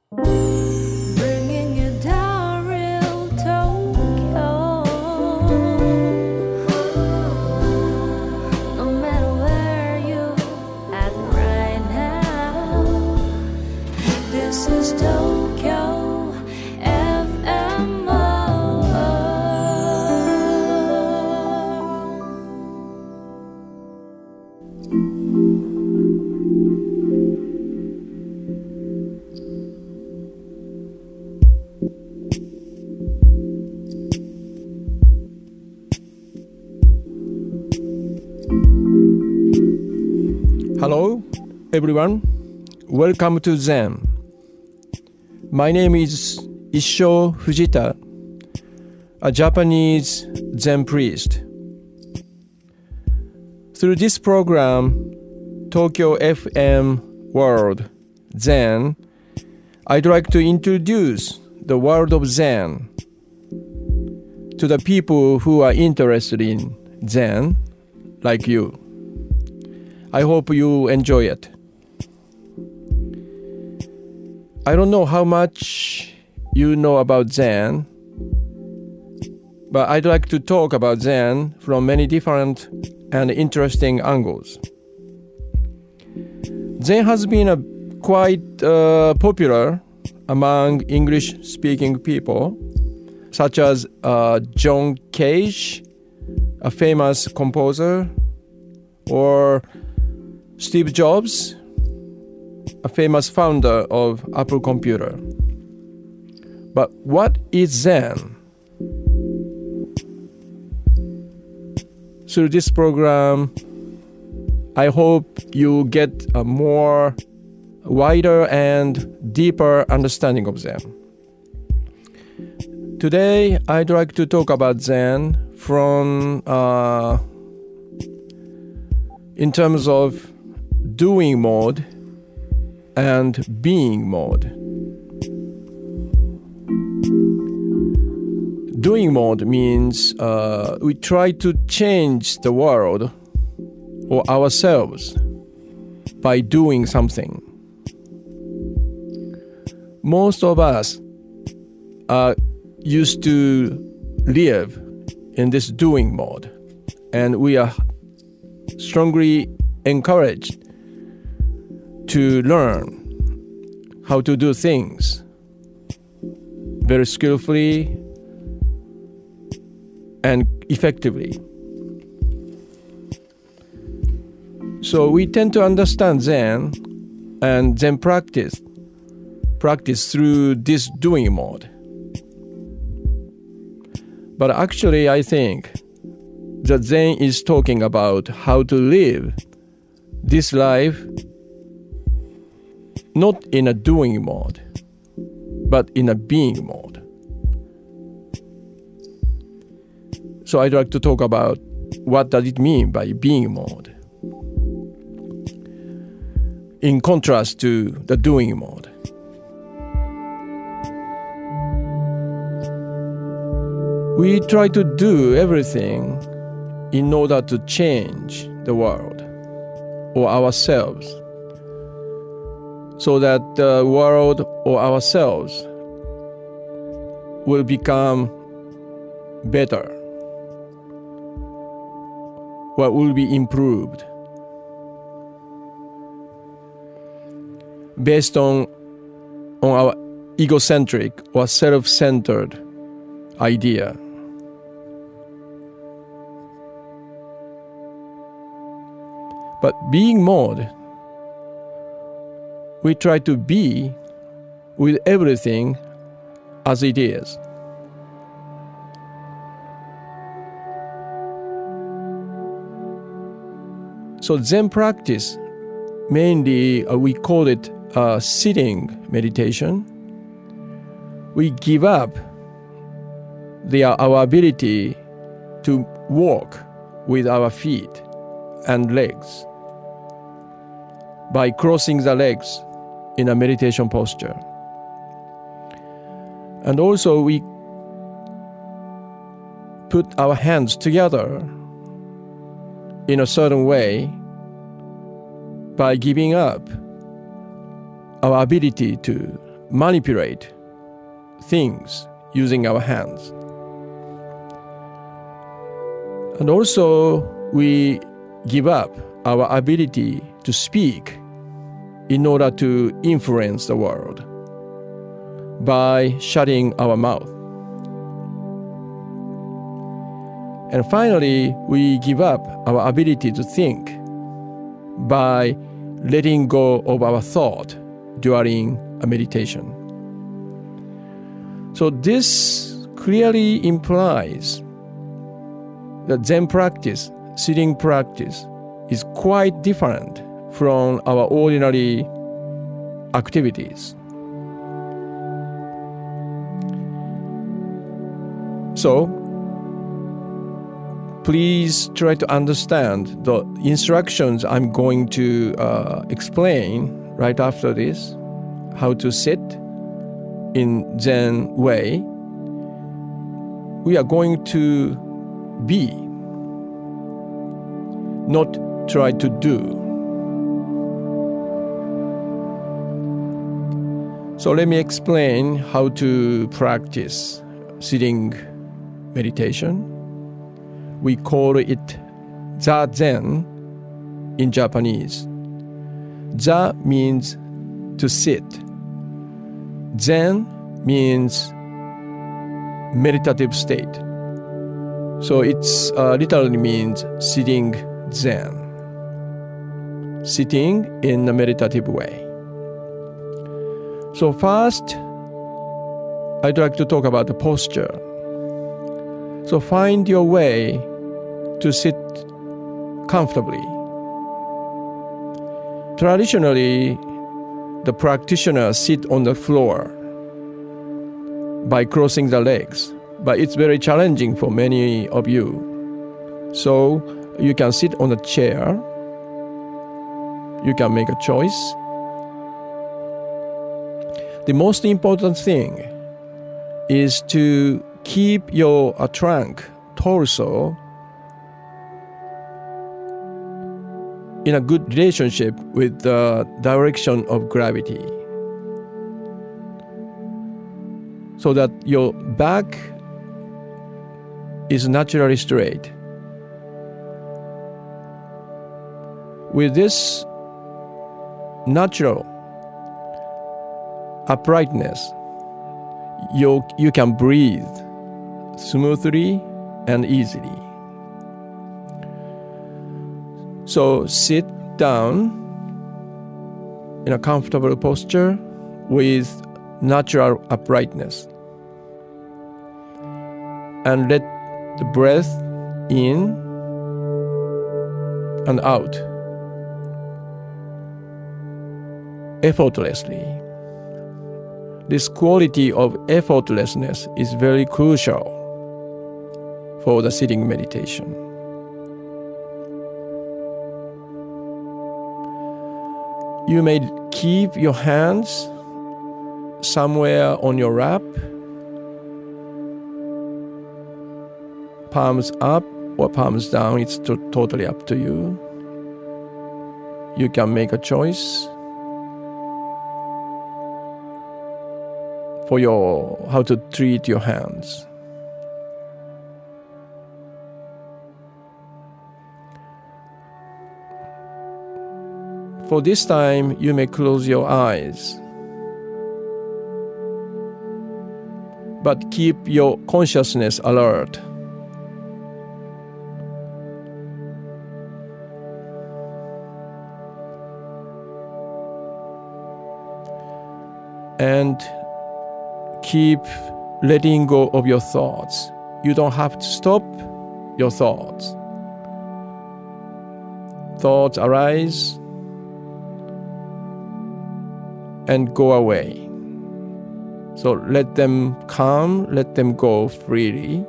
Bringing you down real Tokyo. No matter where you at right now, this is Tokyo FMO. Hello, everyone. Welcome to Zen. My name is Issho Fujita, a Japanese Zen priest. Through this program, Tokyo FM World Zen, I'd like to introduce the world of Zen to the people who are interested in Zen, like you. I hope you enjoy it. I don't know how much you know about Zen, but I'd like to talk about Zen from many different and interesting angles. Zen has been quite popular among English-speaking people, such as John Cage, a famous composer, or Steve Jobs, a famous founder of Apple Computer. But what is Zen? Through this program, I hope you get a more wider and deeper understanding of Zen. Today, I'd like to talk about Zen from in terms of doing mode and being mode. Doing mode means we try to change the world or ourselves by doing something. Most of us are used to live in this doing mode, and we are strongly encouraged to learn how to do things very skillfully and effectively. So we tend to understand Zen and Zen practice through this doing mode. But actually, I think that Zen is talking about how to live this life not in a doing mode, but in a being mode. So I'd like to talk about what does it mean by being mode, in contrast to the doing mode. We try to do everything in order to change the world or ourselves, so that the world or ourselves will become better, or will be improved based on our egocentric or self-centered idea. But being mode, we try to be with everything as it is. So Zen practice, mainly we call it sitting meditation. We give up our ability to walk with our feet and legs by crossing the legs in a meditation posture. And also we put our hands together in a certain way by giving up our ability to manipulate things using our hands. And also, we give up our ability to speak in order to influence the world by shutting our mouth. And finally, we give up our ability to think by letting go of our thought during a meditation. So this clearly implies that Zen practice, sitting practice, is quite different from our ordinary activities. So, please try to understand the instructions I'm going to explain right after this, how to sit in Zen way. We are going to be, not try to do. So let me explain how to practice sitting meditation. We call it Zazen in Japanese. Za means to sit. Zen means meditative state. So it's literally means sitting Zen. Sitting in a meditative way. So first, I'd like to talk about the posture. So find your way to sit comfortably. Traditionally, the practitioners sit on the floor by crossing the legs, but it's very challenging for many of you. So you can sit on a chair. You can make a choice. The most important thing is to keep your trunk, torso, in a good relationship with the direction of gravity, so that your back is naturally straight. With this natural uprightness, you can breathe smoothly and easily. So sit down in a comfortable posture with natural uprightness, and let the breath in and out effortlessly. This quality of effortlessness is very crucial for the sitting meditation. You may keep your hands somewhere on your lap, palms up or palms down. It's totally up to you. You can make a choice for how to treat your hands. For this time, you may close your eyes, but keep your consciousness alert. And keep letting go of your thoughts. You don't have to stop your thoughts. Thoughts arise and go away. So let them come, let them go freely.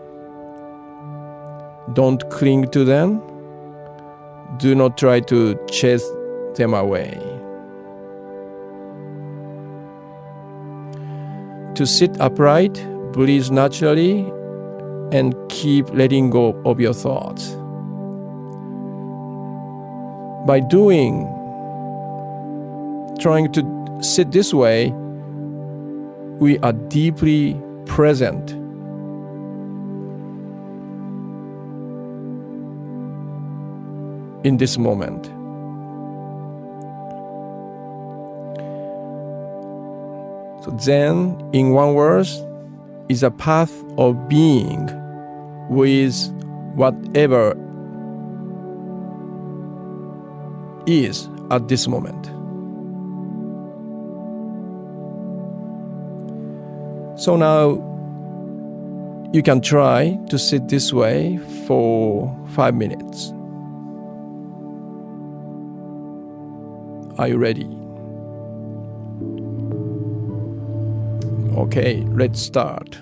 Don't cling to them. Do not try to chase them away. To sit upright, breathe naturally, and keep letting go of your thoughts. By trying to sit this way, we are deeply present in this moment. So Zen, in one word, is a path of being with whatever is at this moment. So now you can try to sit this way for 5 minutes. Are you ready? Okay, let's start.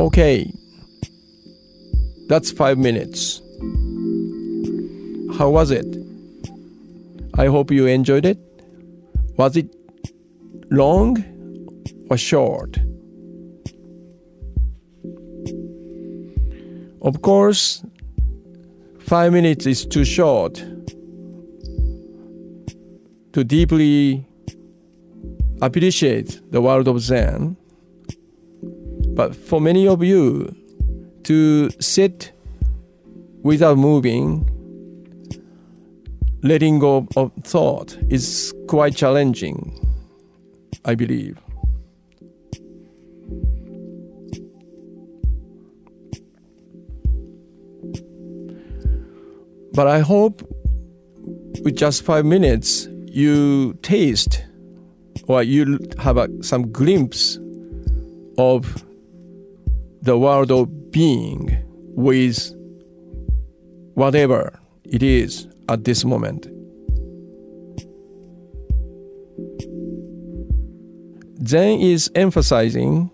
Okay, that's 5 minutes. How was it? I hope you enjoyed it. Was it long or short? Of course, 5 minutes is too short to deeply appreciate the world of Zen. But for many of you, to sit without moving, letting go of thought is quite challenging, I believe. But I hope with just 5 minutes, you taste or you have some glimpse of the world of being with whatever it is at this moment. Zen is emphasizing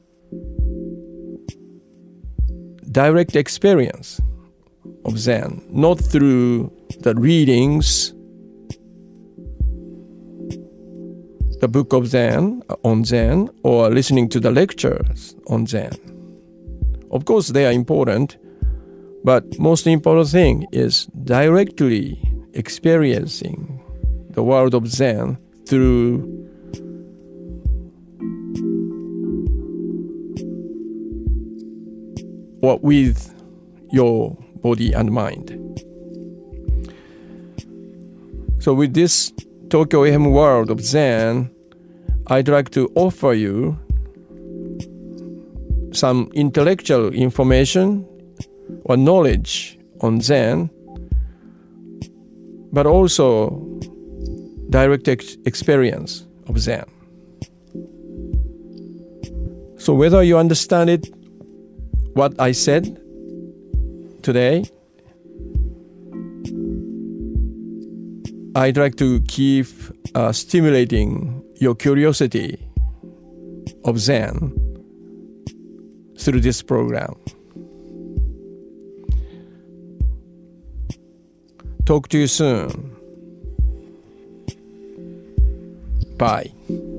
direct experience of Zen, not through the readings, the book of Zen on Zen, or listening to the lectures on Zen. Of course, they are important, but most important thing is directly experiencing the world of Zen through or with your body and mind. So with this Tokyo FM World of Zen, I'd like to offer you some intellectual information or knowledge on Zen, but also direct experience of Zen. So whether you understand it, what I said today, I'd like to keep stimulating your curiosity of Zen through this program. Talk to you soon. Bye.